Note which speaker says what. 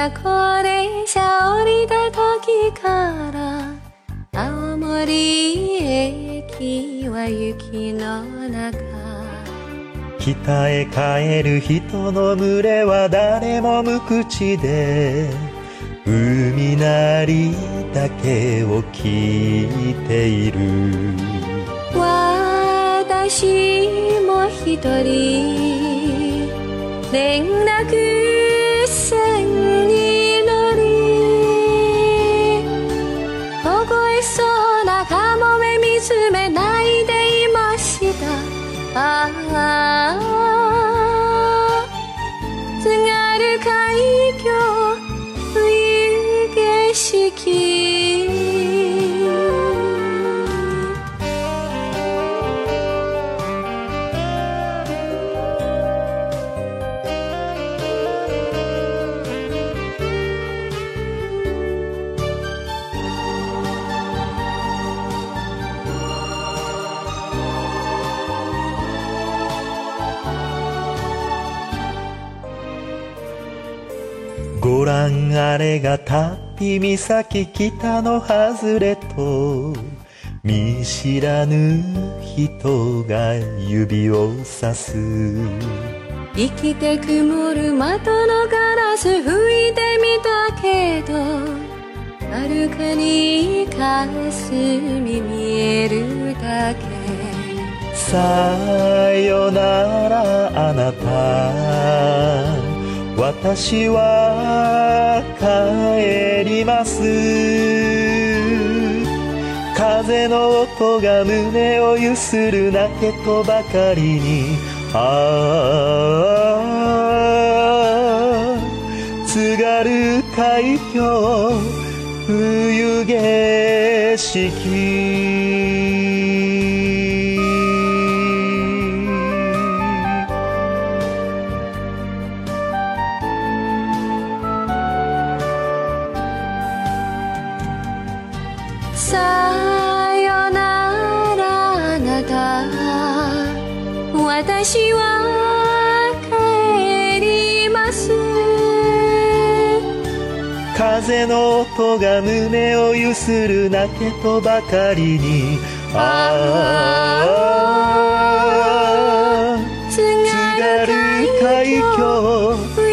Speaker 1: 高齢者降りた時から青森駅は雪の中、
Speaker 2: 北へ帰る人の群れは誰も無口で、海なりだけを聞いている。
Speaker 1: 私も一人連絡船に乗り、凍えそうなカモメ見つめないでいました。ああ、津軽海峡冬景色、
Speaker 2: ごらんあれがタッピ岬北の外れと、見知らぬ人が指をさす。
Speaker 1: 生きて曇る窓のガラス拭いてみたけど、遥かに霞見えるだけ。
Speaker 2: さよならあなた、私は帰ります。風の音が胸をゆする泣けとばかりに、ああ津軽海峡冬景色。
Speaker 1: さよならあなた、私は帰ります。
Speaker 2: 風の音が胸をゆする泣けとばかりに、ああ津軽海峡